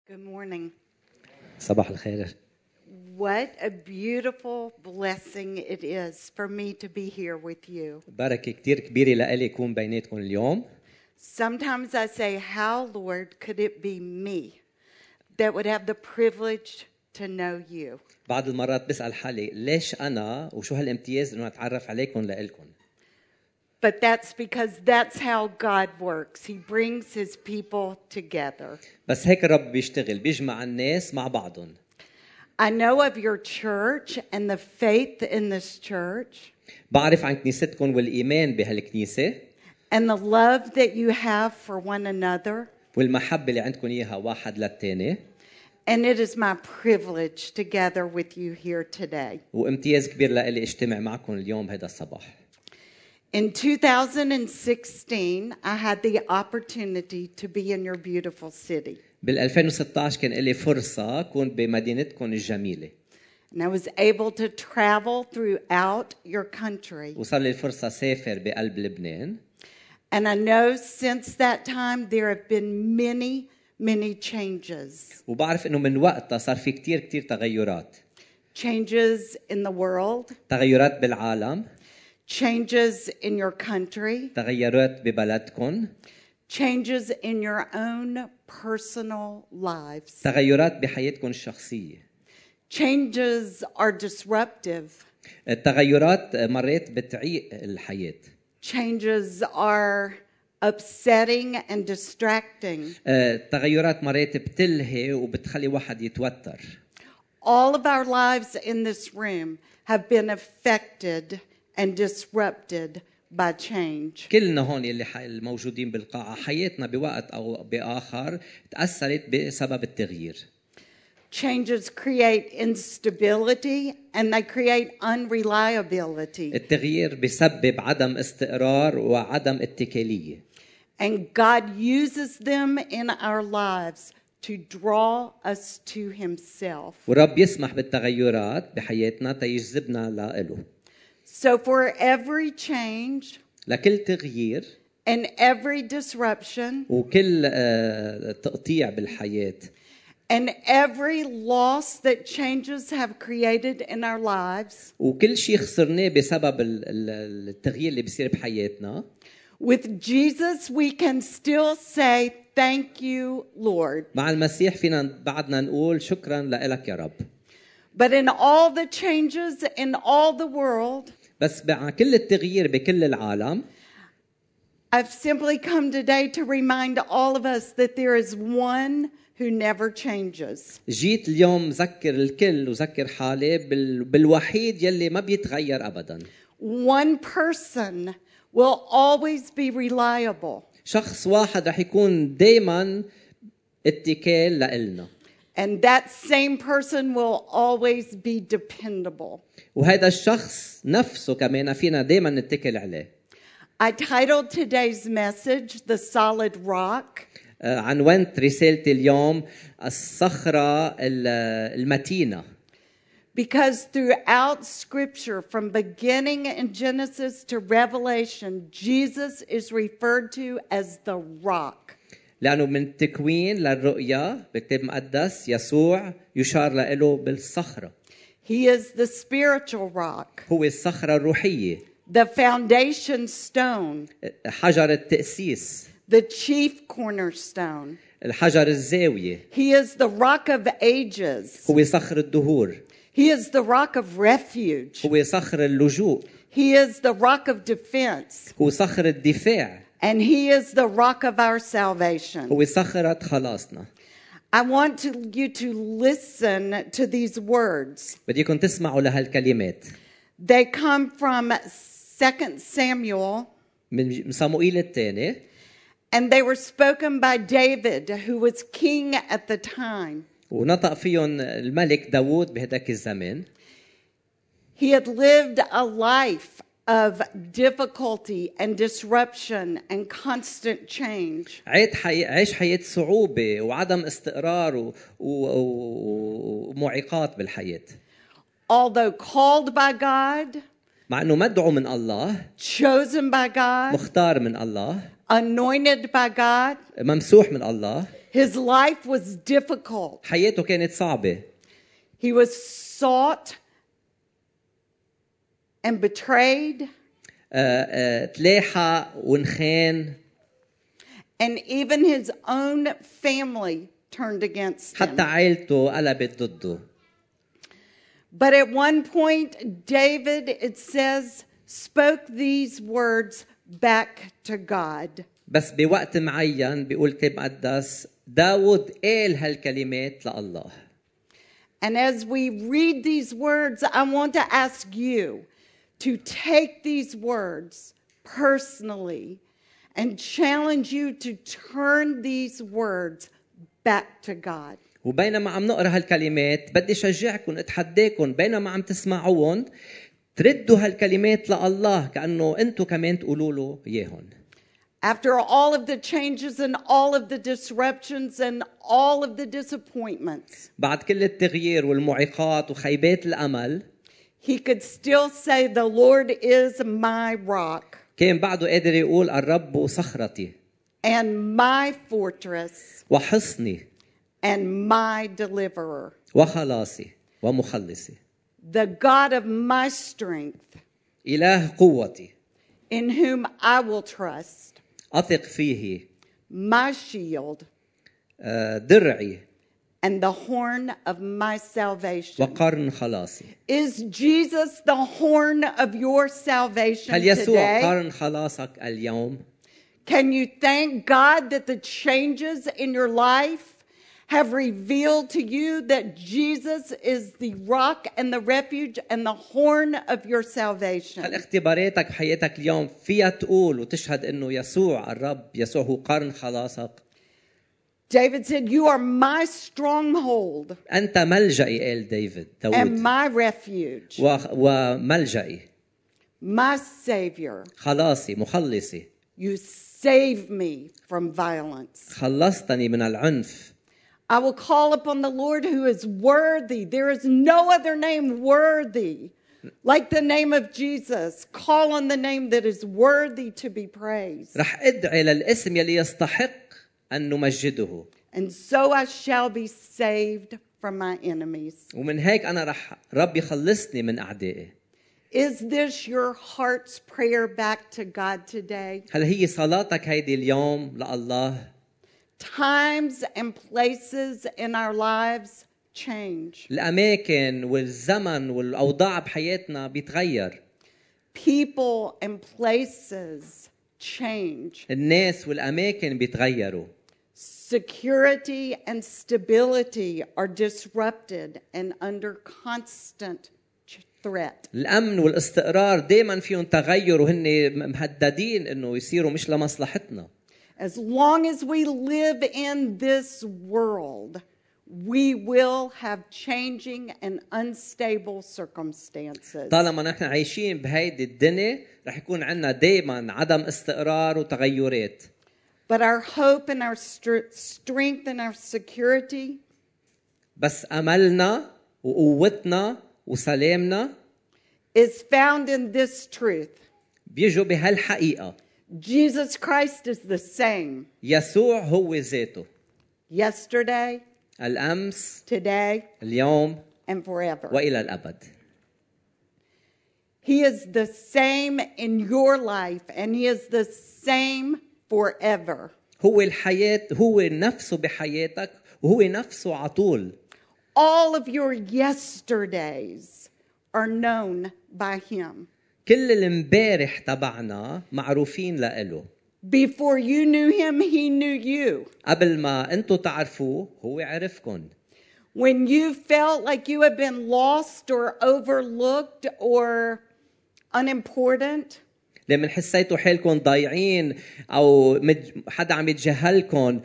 Good morning. صباح الخير. What a beautiful blessing it is for me to be here with you. بركة كتير كبيرة لإلي أكون بيناتكم اليوم. Sometimes I say, how, Lord, could it be me that would have the privilege to know you? بعض المرات بسأل حالي ليش أنا وشو هالامتياز إنه أتعرف عليكم لإلكم. But that's because that's how God works. He brings his people together. بس هيك الرب بيشتغل بيجمع الناس مع بعضهم. I know of your church and the faith in this church. بعرف عن كنيستكم والإيمان بهالكنيسة. And the love that you have for one another. والمحبة اللي عندكم إياها واحد للتاني. And it is my privilege to gather with you here today. وامتياز كبير لإلي اجتمع معكم اليوم هذا الصباح. In 2016, I had the opportunity to be in your beautiful city. بال2016 كان لي فرصة أكون بمدينتكم الجميلة. And I was able to travel throughout your country. وصار لي الفرصة سافر بقلب لبنان. And I know since that time there have been many changes. وبعرف إنه من وقتها صار في كتير تغيرات. Changes in the world. تغيرات بالعالم. Changes in your country. تغيرات ببلدكم. Changes in your own personal lives. تغيرات بحياتكم الشخصية. Changes are disruptive. التغيرات مرات بتعيق الحياة. Changes are upsetting and distracting. التغيرات مرات بتلهي وبتخلي واحد يتوتر. All of our lives in this room have been affected and disrupted by change. كلنا هون اللي الموجودين بالقاعة حياتنا بوقت أو بآخر تأثرت بسبب التغيير. Changes create instability and they create unreliability. التغيير بيسبب عدم استقرار وعدم اتكالية. And God uses them in our lives to draw us to himself. ورب يسمح بالتغيرات بحياتنا تيجذبنا لإله. So for every change لكل تغيير and every disruption وكل تقطيع بالحياة and every loss that changes have created in our lives, وكل شيء خسرناه بسبب التغيير اللي بيصير بحياتنا. with Jesus we can still say thank you, Lord. مع المسيح فينا بعدنا نقول شكرا لك يا رب. But in all the changes in all the world, بس مع كل التغيير بكل العالم I've simply come today to remind all of us that there is one who never changes. جيت اليوم ذكر الكل وذكر حالي بالوحيد يلي ما بيتغير أبدا. One person will always be reliable. شخص واحد رح يكون دايما اتكال لإلنا. And that same person will always be dependable. وهذا الشخص نفسه كمان فينا دايما نتكل عليه. I titled today's message, The Solid Rock. عنوانت رسالتي اليوم الصخرة المتينة. Because throughout Scripture, from beginning in Genesis to Revelation, Jesus is referred to as the rock. لأنه من التكوين للرؤيا بالكتاب المقدس يسوع يشار له بالصخرة. He is the spiritual rock. هو الصخرة الروحية. The foundation stone. حجر التأسيس. The chief cornerstone. الحجر الزاوية. He is the rock of ages. هو صخر الدهور. He is the rock of refuge. هو صخر اللجوء. He is the rock of defense. هو صخر الدفاع. And he is the rock of our salvation. هو صخرة خلاصنا. I want you to listen to these words. بديكم تسمعوا لهالكلمات. They come from 2 Samuel. من صموئيل الثاني. And they were spoken by David, who was king at the time. ونطق فيهم الملك داوود بهداك الزمان. He had lived a life of difficulty and disruption and constant change. عيش حياة صعوبة وعدم استقرار ومعيقات بالحياة. Although called by God, مع أنه مدعو من الله, chosen by God, مختار من الله, anointed by God, ممسوح من الله, His life was difficult. حياته كانت صعبة. He was sought and betrayed. تلاحق ونخان. And even his own family turned against him. حتى عائلته قلبت ضده. But at one point, David, it says, spoke these words back to God. بس بوقت معين بيقول الكتاب المقدس داود قال هالكلمات لله. And as we read these words, I want to ask you to take these words personally and challenge you to turn these words back to God. وبينما عم نقرا هالكلمات بدي شجعكم اتحداكم بينما عم تسمعوهم تردوا هالكلمات لله كأنه انتم كمان تقولوا له اياهم. After all of the changes and all of the disruptions and all of the disappointments, بعد كل التغيير والمعيقات وخيبات الامل he could still say, the Lord is my rock كان بعده قادر يقول الرب صخرتي and my fortress وحصني and my deliverer, وخلاصي ومخلصي. the God of my strength, إله قوتي in whom I will trust, أثق فيه my shield درعي and the horn of my salvation. وقرن خلاصي. Is Jesus the horn of your salvation هل يسوع today? قرن خلاصك اليوم؟ Can you thank God that the changes in your life have revealed to you that Jesus is the rock and the refuge and the horn of your salvation? هل اختباراتك بحياتك اليوم فيها تقول وتشهد انه يسوع الرب يسوع هو قرن خلاصك؟ David said, you are my stronghold أنت ملجئي قال and داود my refuge, وملجئي my savior. خلاصي مخلصي. You save me from violence. خلصتني من العنف. I will call upon the Lord who is worthy. There is no other name worthy like the name of Jesus. Call on the name that is worthy to be praised. رح ادعي للاسم يلي يستحق أن نمجده. And so I shall be saved from my enemies. ومن هيك أنا رب يخلصني من أعدائي. Is this your heart's prayer back to God today? هل هي صلاتك هيدي اليوم لله؟ Times and places in our lives change. الأماكن والزمن والأوضاع بحياتنا بيتغير. People and places change. الناس والأماكن بيتغيروا. Security and stability are disrupted and under constant threat. الأمن والاستقرار دائما فيهم تغير وهن مهددين إنه يصيروا مش لمصلحتنا. As long as we live in this world, we will have changing and unstable circumstances. طالما نحن عايشين بهيدي الدنيا رح يكون عنا دائما عدم استقرار وتغيرات. But our hope and our strength and our security بس أملنا وقوتنا وسلامنا is found in this truth. بيجوا بهالحقيقة. Jesus Christ is the same يسوع هو ذاته. yesterday, الأمس today, اليوم and forever. وإلى الأبد. He is the same in your life, and He is the same forever. هو الحياة هو نفسه بحياتك وهو نفسه عطول. All of your yesterdays are known by Him. كل الامبارح تبعنا معروفين لإله. Before you knew Him, He knew you. قبل ما أنتوا تعرفوه هو عرفكن. When you felt like you had been lost or overlooked or unimportant, لما حسيتوا حالكم ضايعين أو حدا عم يتجاهلكن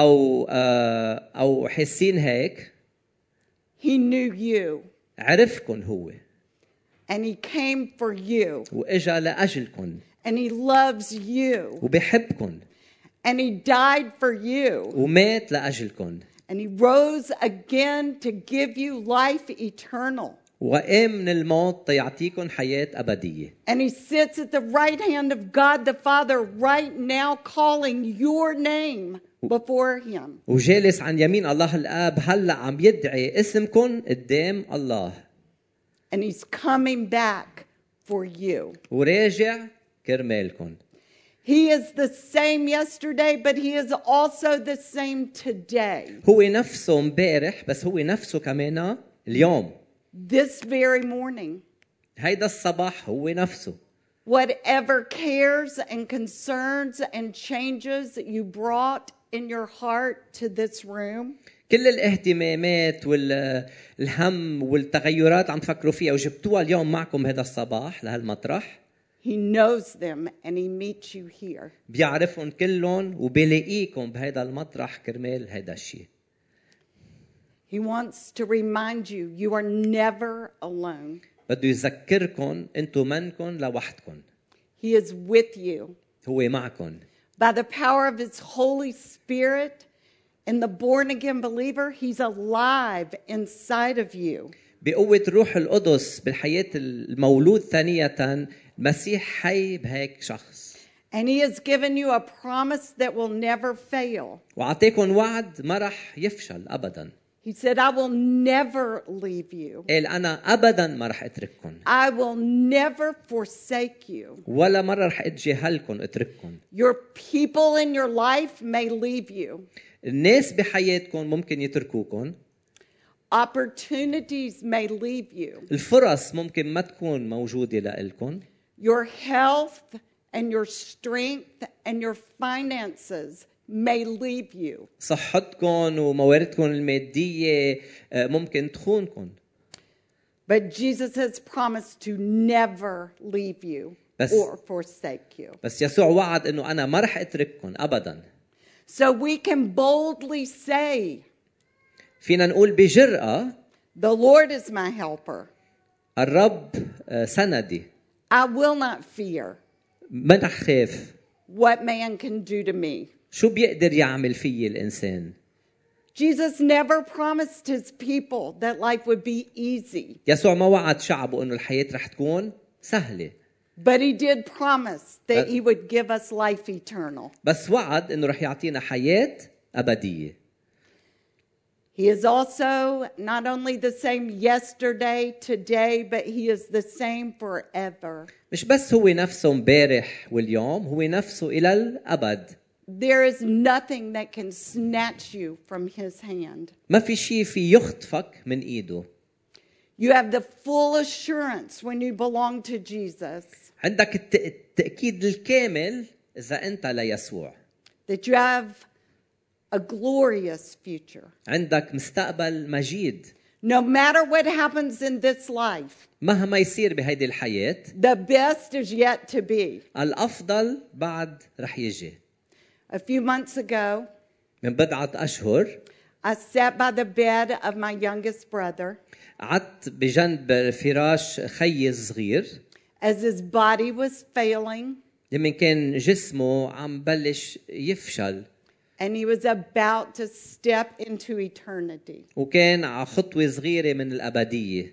أو حاسين هيك. He knew you. عرفكن هو. And He came for you. وإجا لأجلكن. And He loves you. وبيحبكن. And He died for you. ومات لأجلكن. And He rose again to give you life eternal. وقام من الموت يعطيكم حياة أبدية. And he sits at the right hand of God the Father right now, calling your name before him. وجالس عن يمين الله الآب هلأ عم يدعي اسمكم قدام الله. And he's coming back for you. وراجع كرمالكم. He is the same yesterday, but he is also the same today. هو نفسه امبارح بس هو نفسه كمان اليوم. This very morning. هيدا الصباح هو نفسه. Whatever cares and concerns and changes you brought in your heart to this room, كل الاهتمامات والهم والتغيرات عم تفكروا فيها وجبتوها اليوم معكم هذا الصباح لهالمطرح. he knows them and he meets you here. بيعرفهم كلهم وبيلاقيكم بهذا المطرح كرمال هذا الشيء. He wants to remind you, you are never alone. بده يذكركم انتم منكم لوحدكم. He is with you. هو معكم. By the power of his Holy Spirit and the born again believer, he's alive inside of you. بقوة الروح القدس بالحياة المولود ثانية المسيح حي بهيك شخص. And he has given you a promise that will never fail. وعطيكم وعد ما رح يفشل أبداً. He said, I will never leave you. قال أنا أبداً ما رح أترككم. I will never forsake you. ولا مرة رح أتجاهلكم أترككم. Your people in your life may leave you. الناس بحياتكم ممكن يتركوكم. Opportunities may leave you. الفرص ممكن ما تكون موجودة لإلكم. Your health and your strength and your finances may leave you. صحتكم ومواردكم المادية ممكن تخونكم. But Jesus has promised to never leave you or forsake you. بس يسوع وعد إنه أنا ما رح أترككم أبداً. So we can boldly say, فينا نقول بجرأة the Lord is my helper. الرب سندي. I will not fear ما رح خاف. what man can do to me. شو بيقدر يعمل فيي الإنسان؟ Jesus never promised his people that life would be easy. يسوع ما وعد شعبه إنه الحياة رح تكون سهلة. But he did promise that he would give us life eternal. بس وعد إنه رح يعطينا حياة أبدية. He is also not only the same yesterday, today, but he is the same forever. مش بس هو نفسه امبارح واليوم، هو نفسه إلى الأبد. There is nothing that can snatch you from his hand. ما في شيء في يخطفك من إيده. You have the full assurance when you belong to Jesus عندك التأكيد الكامل إذا أنت ليسوع. that you have a glorious future. عندك مستقبل مجيد. No matter what happens in this life, مهما يصير بهيدي الحياة، the best is yet to be. الأفضل بعد رح يجي. A few months ago, من بضعة أشهر I sat by the bed of my youngest brother قعدت بجنب فراش خيي الصغير as his body was failing لمن كان جسمه عم بلش يفشل and he was about to step into eternity. وكان على خطوة صغيرة من الأبدية.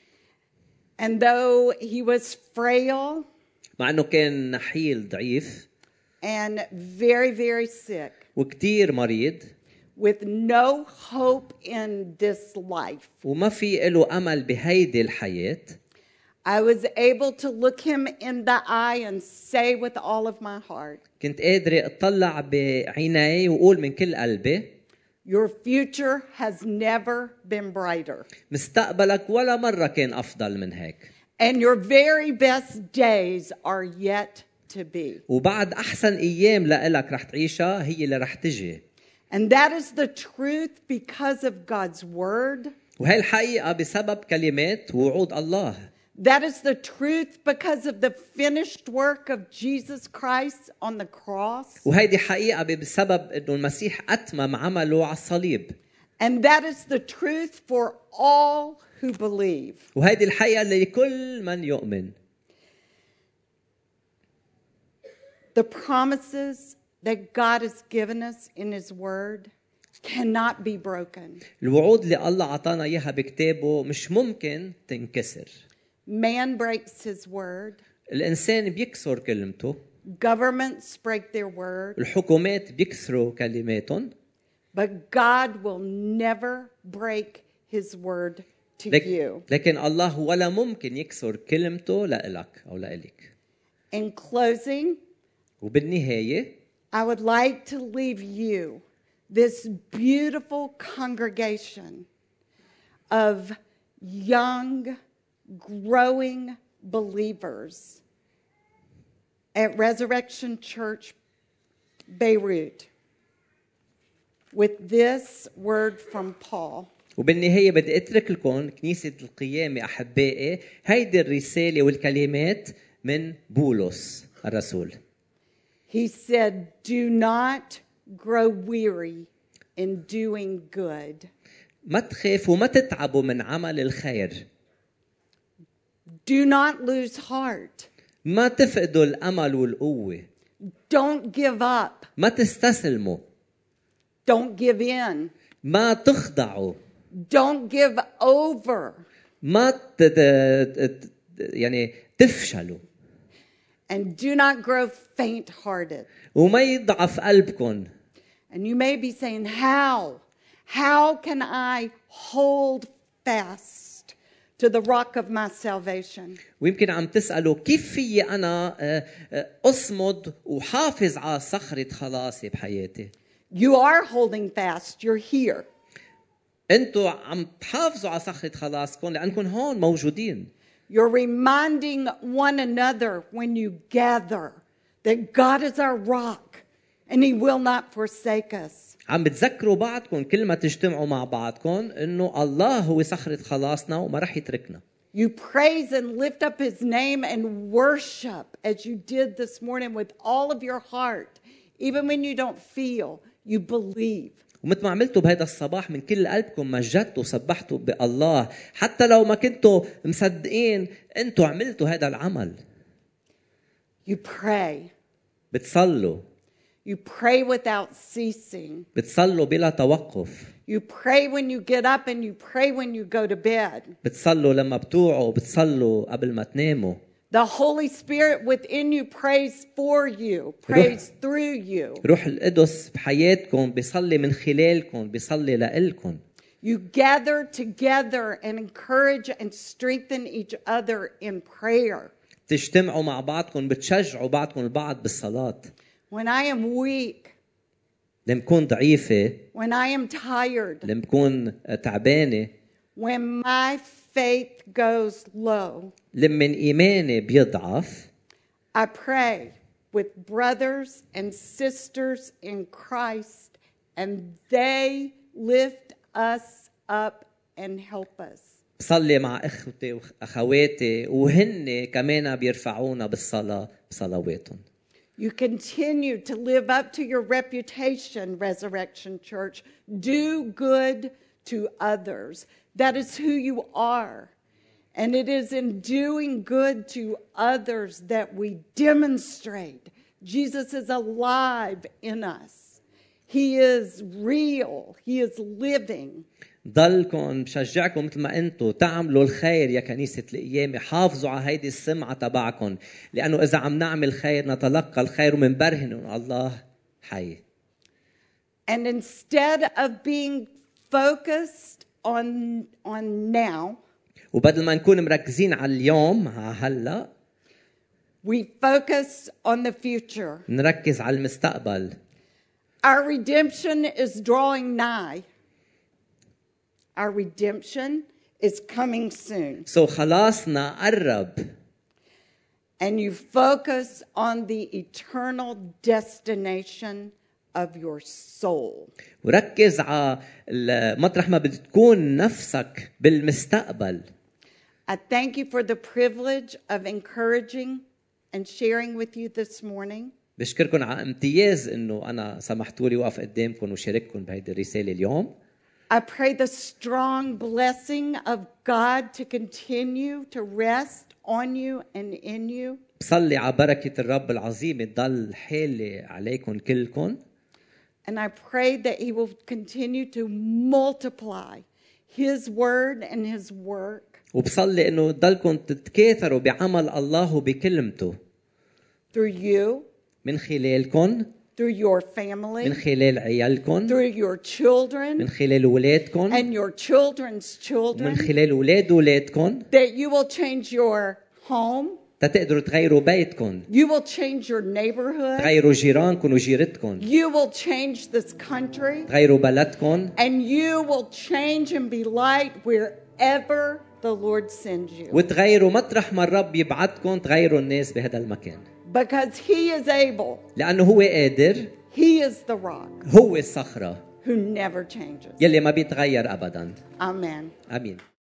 And though he was frail مع أنه كان نحيل ضعيف and very, very sick, وكتير مريض with no hope in this life, وما في له أمل بهيدي الحياة، I was able to look him in the eye and say with all of my heart, كنت قادرة أطلع بعيني وأقول من كل قلبي your future has never been brighter. مستقبلك ولا مرة كان أفضل من هيك. And your very best days are yet to be. وبعد أحسن أيام لإلك رح تعيشها هي اللي رح تجي. And that is the truth because of God's word. وهي الحقيقة بسبب كلمات ووعود الله. That is the truth because of the finished work of Jesus Christ on the cross. وهيدي حقيقة بسبب إنه المسيح أتمم عمله على الصليب. And that is the truth for all who believe. وهيدي الحقيقة لكل من يؤمن. The promises that God has given us in his word cannot be broken. الوعود اللي الله عطانا إياها بكتابه مش ممكن تنكسر. Man breaks his word. الإنسان بيكسر كلمته. Governments break their word. الحكومات بيكسروا كلماتهم. But God will never break his word to you. لكن الله ولا ممكن يكسر كلمته لإلك أو لإلك. In closing, وبالنهاية I would like to leave you, this beautiful congregation of young, growing believers at Resurrection Church, Beirut, with this word from Paul. وبالنهاية بدي أترك لكم كنيسة القيامة أحبائي هيدي الرسالة والكلمات من بولس الرسول. He said, do not grow weary in doing good. ما تخافوا وما تتعبوا من عمل الخير. Do not lose heart. ما تفقدوا الأمل والقوة. Don't give up. ما تستسلموا. Don't give in. ما تخضعوا. Don't give over. ما يعني تفشلوا. And do not grow faint-hearted. وما يضعف قلبكم. And you may be saying, how? How can I hold fast to the rock of my salvation? ويمكن عم تسألوا كيف في أنا أصمد وحافظ على صخرة خلاصي بحياتي. You are holding fast. You're here. أنتوا عم تحافظوا على صخرة خلاصكم لأنكم هون موجودين. You're reminding one another when you gather that God is our rock and He will not forsake us. عم بتذكروا بعضكم كل ما تجتمعوا مع بعضكم إنه الله هو صخرة خلاصنا وما رح يتركنا. You praise and lift up His name and worship as you did this morning with all of your heart. Even when you don't feel, you believe. ومثل ما عملتوا بهذا الصباح من كل قلبكم مجدتوا وسبحتوا بالله حتى لو ما كنتوا مصدقين انتوا عملتوا هذا العمل. You pray. بتصلوا. You pray without ceasing. بتصلوا بلا توقف. You pray when you get up and you pray when you go to bed. بتصلوا لما بتوعوا بتصلوا قبل ما تناموا. The Holy Spirit within you prays for you, prays through you. روح القدس بحياتكم بيصلي من خلالكم بيصلي لإلكم. You gather together and encourage and strengthen each other in prayer. تجتمعوا مع بعضكم بتشجعوا بعضكم البعض بالصلاة. When I am weak, لما بكون ضعيفة. when I am tired, لما بكون تعبانة. when my faith goes low, لما إيماني بيضعف. I pray with brothers and sisters in Christ, and they lift us up and help us. بصلي مع اخوتي واخواتي وهن كمان بيرفعونا بالصلاة بصلواتهم. You continue to live up to your reputation, Resurrection Church. Do good to others. That is who you are. And it is in doing good to others that we demonstrate Jesus is alive in us. He is real. He is living. ضلكم بشجعكم مثل ما انتم تعملوا الخير يا كنيسة القيامة. حافظوا على هيدي السمعة تبعكم لأنه إذا عم نعمل خير نتلقى الخير ومنبرهن إن الله حي. And instead of being focused on now, وبدل ما نكون مركزين على اليوم هلا we focus on the future. نركز على المستقبل. Our redemption is drawing nigh. Our redemption is coming soon. So خلاصنا قرب. And you focus on the eternal destination of your soul. وركز على مطرح ما بتكون نفسك بالمستقبل. I thank you for the privilege of encouraging and sharing with you this morning. بشكركم على امتياز انه انا سمحتوا لي وقف قدامكم وشارككم بهيدي الرساله اليوم. I pray the strong blessing of God to continue to rest on you and in you. بصلي على بركه الرب العظيمه تضل حالة عليكم كلكم. And I pray that he will continue to multiply his word and his work وبصلي انه تضلكم تتكاثروا بعمل الله وبكلمته through you, من خلالكم، through your من family, خلال عيالكم، through your من children خلال اولادكم، and your children's من children, خلال اولاد اولادكم، that you will change your home, تقدروا تغيروا بيتكم، you will change your neighborhood, تغيروا جيرانكم وجيرتكم، you will change this country, تغيروا بلدكم، and you will change and be light wherever the Lord sends you. وتغيروا مطرح ما الرب يبعتكم، تغيروا الناس بهذا المكان، Because he is able, لأنه هو قادر، he is the rock هو الصخرة who never changes. يلي ما بيتغير أبدا. Amen. آمين.